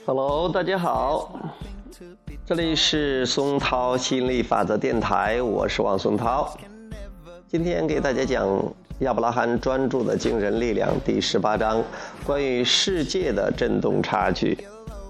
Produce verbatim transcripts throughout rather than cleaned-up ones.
Hello， 大家好，这里是松涛吸引力法则电台，我是王松涛。今天给大家讲亚伯拉罕专注的惊人力量第十八章，关于世界的振动差距。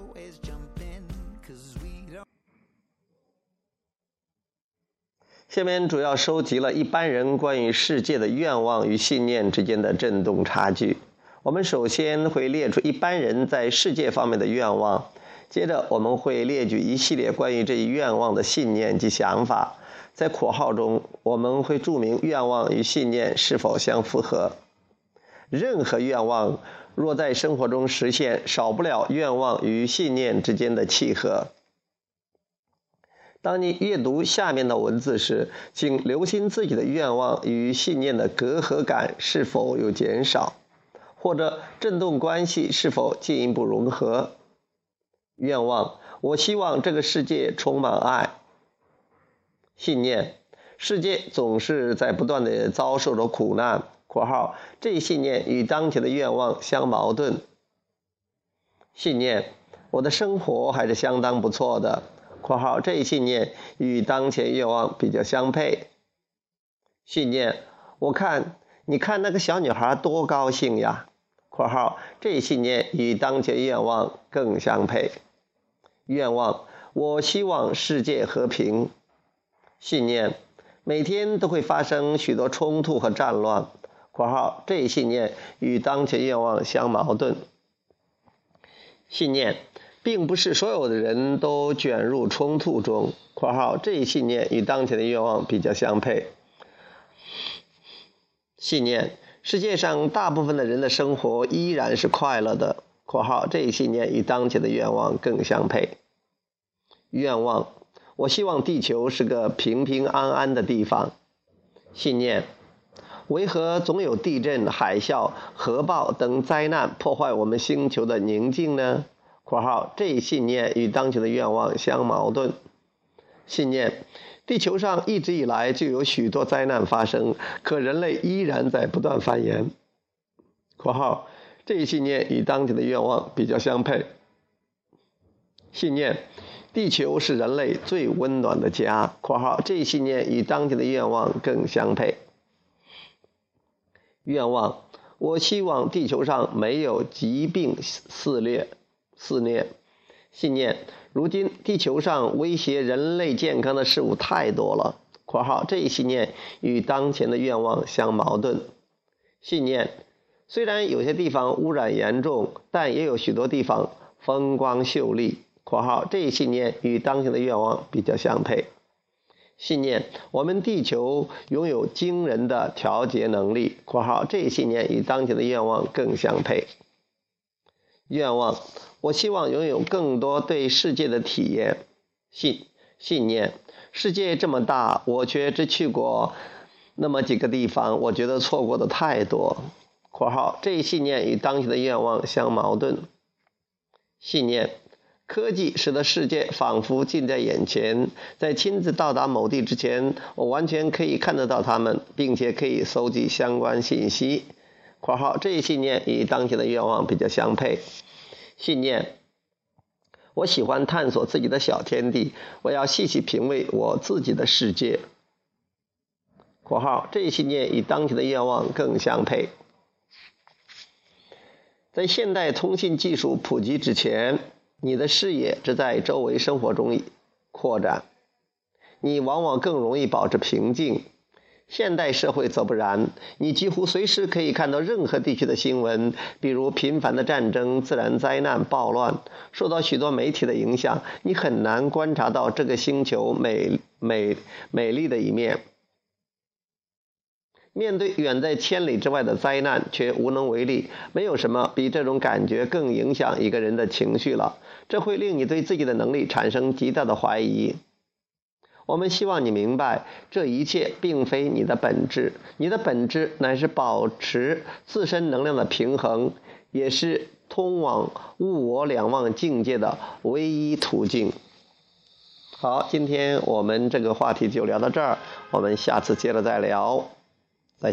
下面主要收集了一般人关于世界的愿望与信念之间的振动差距。我们首先会列出一般人在世界方面的愿望，接着我们会列举一系列关于这一愿望的信念及想法。在括号中，我们会注明愿望与信念是否相符合。任何愿望若在生活中实现，少不了愿望与信念之间的契合。当你阅读下面的文字时，请留心自己的愿望与信念的隔阂感是否有减少，或者振动关系是否进一步融合。愿望：我希望这个世界充满爱。信念：世界总是在不断地遭受着苦难（括号这一信念与当前的愿望相矛盾）。信念：我的生活还是相当不错的（括号这一信念与当前愿望比较相配）。信念：我看你看那个小女孩多高兴呀（括号这一信念与当前愿望更相配）。愿望：我希望世界和平。信念：每天都会发生许多冲突和战乱（括号这一信念与当前愿望相矛盾）。信念：并不是所有的人都卷入冲突中（括号这一信念与当前的愿望比较相配）。信念：世界上大部分的人的生活依然是快乐的（括号这一信念与当前的愿望更相配）。愿望：我希望地球是个平平安安的地方。信念：为何总有地震、海啸、核爆等灾难破坏我们星球的宁静呢？（括号这一信念与当前的愿望相矛盾）。信念：地球上一直以来就有许多灾难发生，可人类依然在不断繁衍。（括号这一信念与当前的愿望比较相配）。信念：地球是人类最温暖的家（括号这一信念与当前的愿望更相配）。愿望：我希望地球上没有疾病肆虐肆虐。信念：如今地球上威胁人类健康的事物太多了（括号这一信念与当前的愿望相矛盾）。信念：虽然有些地方污染严重，但也有许多地方风光秀丽（括号这一信念与当前的愿望比较相配）。信念：我们地球拥有惊人的调节能力（括号这一信念与当前的愿望更相配）。愿望：我希望拥有更多对世界的体验。信信念：世界这么大，我却只去过那么几个地方，我觉得错过的太多（括号这一信念与当前的愿望相矛盾）。信念：科技使得世界仿佛近在眼前，在亲自到达某地之前，我完全可以看得到它们，并且可以搜集相关信息（括号这一信念与当前的愿望比较相配）。信念：我喜欢探索自己的小天地，我要细细品味我自己的世界（括号这一信念与当前的愿望更相配）。在现代通信技术普及之前，你的视野只在周围生活中扩展，你往往更容易保持平静。现代社会则不然，你几乎随时可以看到任何地区的新闻，比如频繁的战争、自然灾难、暴乱。受到许多媒体的影响，你很难观察到这个星球美美美丽的一面。面对远在千里之外的灾难，却无能为力，没有什么比这种感觉更影响一个人的情绪了。这会令你对自己的能力产生极大的怀疑。我们希望你明白，这一切并非你的本质，你的本质乃是保持自身能量的平衡，也是通往物我两忘境界的唯一途径。好，今天我们这个话题就聊到这儿，我们下次接着再聊，再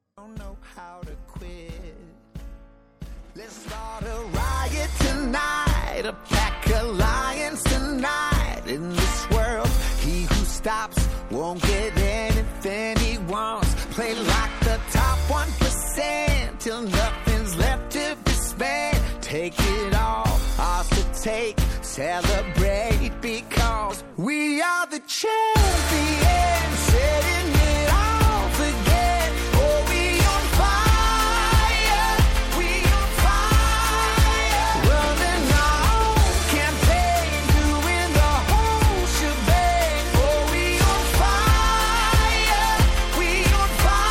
见。Let's start a riot tonight. A pack of lions tonight in this world. He who stops won't get anything he wants. Play like the top one percent till nothing's left to be spent. Take it all, ours to take. Celebrate because we are the champions. Setting it off again. Oh, we on fire. We on fire. Running our own campaign. Doing the whole shebang. Oh, we on fire. We on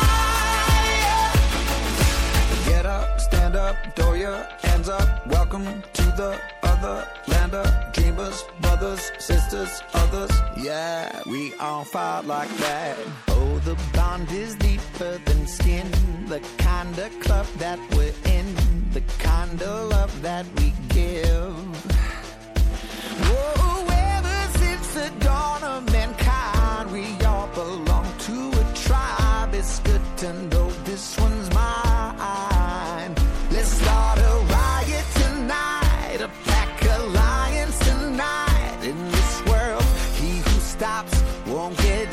fire. Get up, stand up, throw your hands up. Welcome to the other land of dreamers, brothers, sisters, others. Yeah, we on fire like that. Oh, the bond is deeper than skin. The kind of club that we're in. The kind of love that we give. Whoa, ever since the dawn of mankind, we all belong to a tribe. It's good to know this one's mine. Let's start a riot tonight. A pack of lions tonight in this world. He who stops won't get